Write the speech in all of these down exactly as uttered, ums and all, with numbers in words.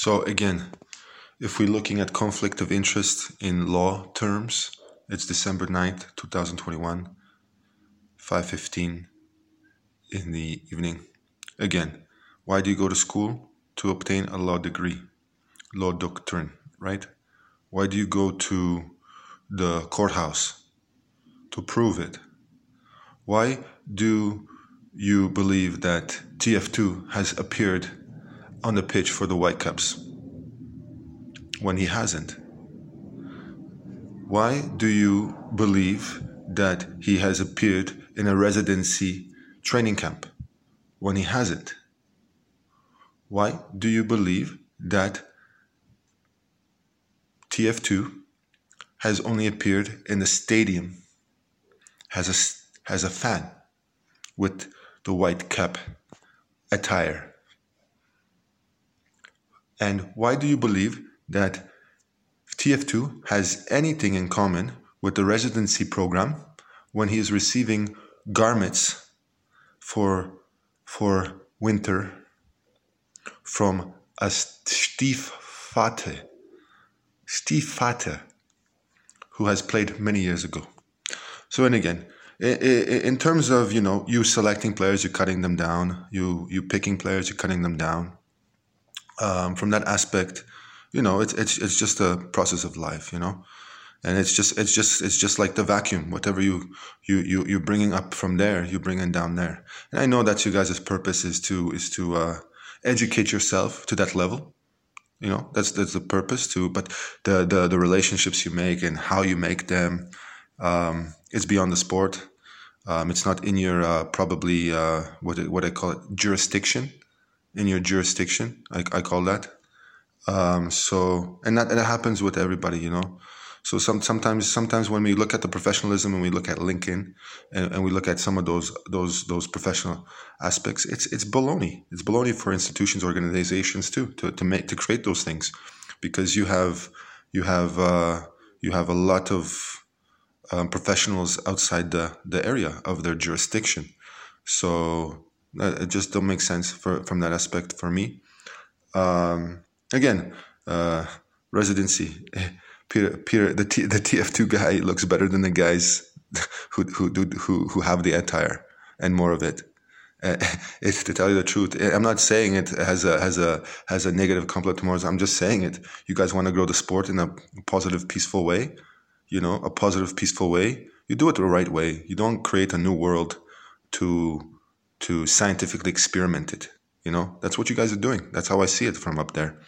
So again, if we're looking at conflict of interest in law terms, it's December ninth, twenty twenty-one, five fifteen in the evening. Again, why do you go to school? To obtain a law degree, law doctrine, right? Why do you go to the courthouse? To prove it. Why do you believe that T F two has appeared on the pitch for the Whitecaps when he hasn't? Why do you believe that he has appeared in a residency training camp when he hasn't? Why do you believe that T F two has only appeared in the stadium as a, as a fan with the white cap attire? And why do you believe that T F two has anything in common with the residency program when he is receiving garments for, for winter from a Stiefvater, Stiefvater, who has played many years ago? So, and again, in terms of, you know, you selecting players, you're cutting them down, you you picking players, you're cutting them down. Um, from that aspect, you know, it's it's it's just a process of life, you know, and it's just it's just it's just like the vacuum. Whatever you you you you're bringing up from there, you're bringing down there. And I know that you guys' purpose is to is to uh, educate yourself to that level. You know, that's that's the purpose too. But the the the relationships you make and how you make them, um, it's beyond the sport. Um, it's not in your uh, probably uh, what what I call it jurisdiction. In your jurisdiction, I, I call that. Um, so, and that, and that happens with everybody, you know. So some sometimes sometimes when we look at the professionalism and we look at Lincoln and, and we look at some of those those those professional aspects, it's it's baloney. It's baloney for institutions, organizations too, to to make to create those things, because you have you have uh, you have a lot of um, professionals outside the the area of their jurisdiction. So uh, it just don't make sense for from that aspect for me. Um, again, uh, residency. Peter, Peter, the T, the T F two guy looks better than the guys who who do who who have the attire and more of it. Uh, it's to tell you the truth. I'm not saying it as a as a as a negative compliment tomorrow. I'm just saying it. You guys want to grow the sport in a positive, peaceful way. You know, a positive, peaceful way. You do it the right way. You don't create a new world to to scientifically experiment it. You know, that's what you guys are doing. That's how I see it from up there.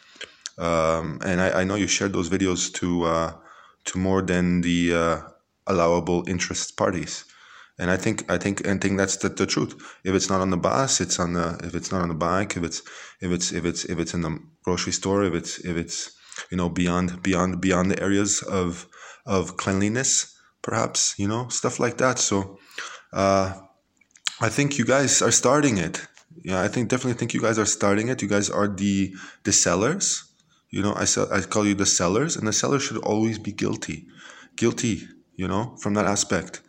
Um, and I, I know you shared those videos to uh, to more than the uh, allowable interest parties, and I think I think and think that's the, the truth. If it's not on the bus, it's on the. If it's not on the bike, if it's if it's if it's if it's in the grocery store, if it's if it's you know beyond beyond beyond the areas of of cleanliness, perhaps, you know, stuff like that. So uh, I think you guys are starting it. Yeah, I think definitely think you guys are starting it. You guys are the the sellers. You know, I sell, I call you the sellers, and the sellers should always be guilty, guilty. You know, from that aspect,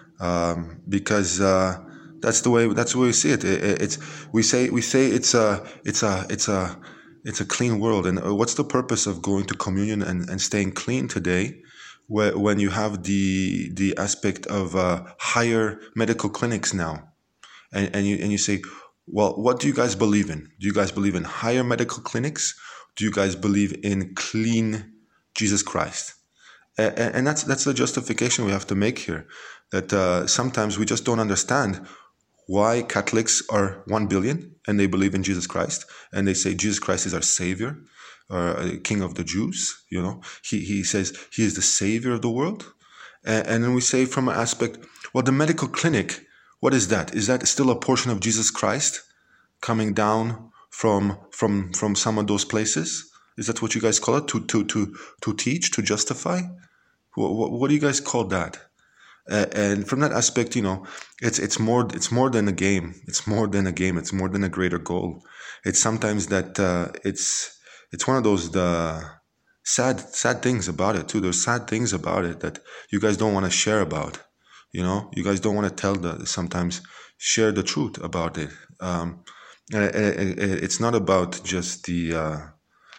um, because uh, that's the way that's the way we see it. it, it it's we say we say it's a it's a it's a it's a clean world, and what's the purpose of going to communion and, and staying clean today, where, when you have the the aspect of uh, higher medical clinics now, and and you and you say, well, what do you guys believe in? Do you guys believe in higher medical clinics? Do you guys believe in clean Jesus Christ? And, and that's that's the justification we have to make here. That uh, sometimes we just don't understand why Catholics are one billion and they believe in Jesus Christ, and they say Jesus Christ is our Savior, or King of the Jews. You know, he he says he is the Savior of the world, and, and then we say from an aspect, well, the medical clinic, what is that? Is that still a portion of Jesus Christ coming down from from from some of those places? Is that what you guys call it? To to to to teach, to justify? What, what, what do you guys call that? Uh, and from that aspect, you know, it's it's more it's more than a game. It's more than a game. It's more than a greater goal. It's sometimes that uh, it's it's one of those the sad sad things about it too. There's sad things about it that you guys don't want to share about. You know, you guys don't want to tell the sometimes share the truth about it. Um, It's not about just the uh,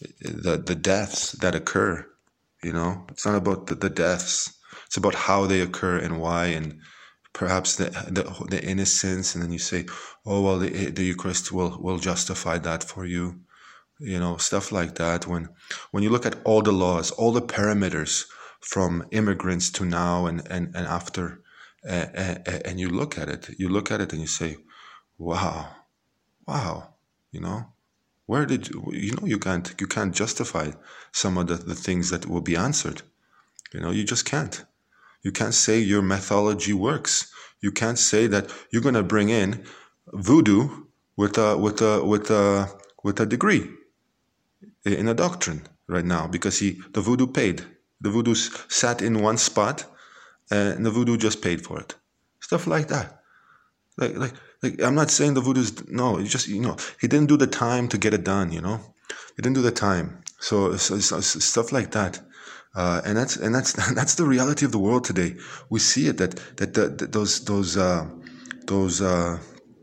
the the deaths that occur. You know, it's not about the, the deaths. It's about how they occur and why, and perhaps the the, the innocence. And then you say, oh well, the, the Eucharist will will justify that for you. You know, stuff like that. When when you look at all the laws, all the parameters from immigrants to now and and and after, uh, uh, and you look at it, you look at it, and you say, wow, wow, you know. Where did you, you know you can't you can't justify some of the, the things that will be answered. You know, you just can't. You can't say your methodology works. You can't say that you're gonna bring in voodoo with a with a with a with a degree in a doctrine right now because he the voodoo paid. The voodoo sat in one spot and the voodoo just paid for it. Stuff like that. Like like like I'm not saying the voodoo's no, it's just you know he didn't do the time to get it done. You know, he didn't do the time. So, so, so stuff like that, uh, and that's and that's that's the reality of the world today. We see it that that, that, that those those uh, those uh,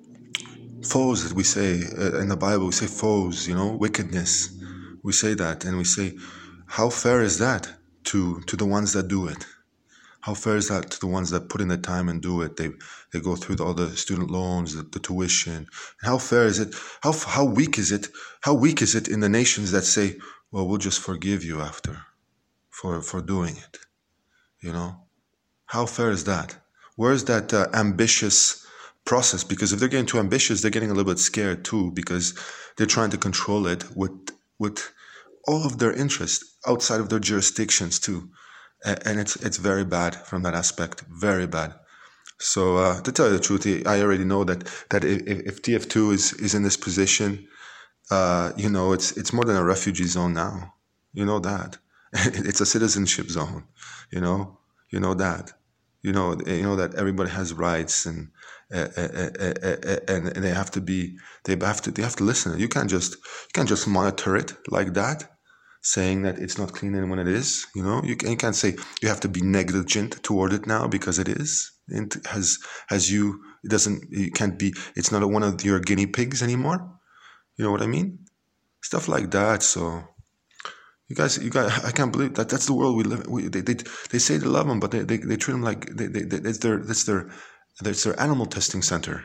foes that we say uh, in the Bible, we say foes. You know, wickedness. We say that, and we say, how fair is that to to the ones that do it? How fair is that to the ones that put in the time and do it? They they go through the, all the student loans, the, the tuition. And how fair is it? How how weak is it? How weak is it in the nations that say, "Well, we'll just forgive you after, for for doing it." You know, how fair is that? Where is that uh, ambitious process? Because if they're getting too ambitious, they're getting a little bit scared too, because they're trying to control it with with all of their interest outside of their jurisdictions too. And it's it's very bad from that aspect, very bad. So uh, to tell you the truth, I already know that that if, if T F two is, is in this position, uh, you know, it's it's more than a refugee zone now. You know that it's a citizenship zone. You know, you know that. You know, you know that everybody has rights and uh, uh, uh, uh, and and they have to be they have to they have to listen. You can't just you can't just monitor it like that, saying that it's not clean when it is. You know, you, can, you can't say you have to be negligent toward it now because it is. It has has you. It doesn't. You can't be. It's not a, one of your guinea pigs anymore. You know what I mean? Stuff like that. So you guys, you guys, I can't believe that that's the world we live. We, they, they they say they love them, but they, they, they treat them like they, they, they, it's their that's their that's their animal testing center.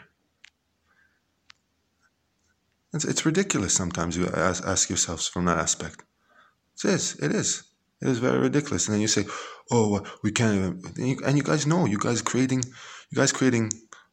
It's it's ridiculous. Sometimes you ask, ask yourselves from that aspect. It is. It is. It is very ridiculous. And then you say, "Oh, we can't even." And you, and you guys know, you guys creating, you guys creating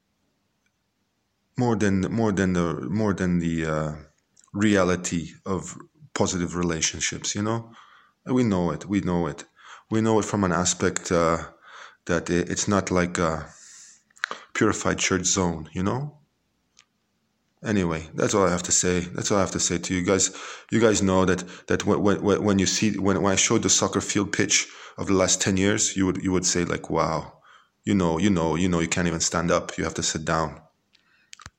more than more than the more than the uh, reality of positive relationships. You know, and we know it. We know it. We know it from an aspect uh, that it, it's not like a purified church zone. You know. Anyway, that's all I have to say. That's all I have to say to you guys. You guys know that that when when, when you see when, when I showed the soccer field pitch of the last ten years, you would you would say like, wow, you know, you know, you know, you can't even stand up. You have to sit down.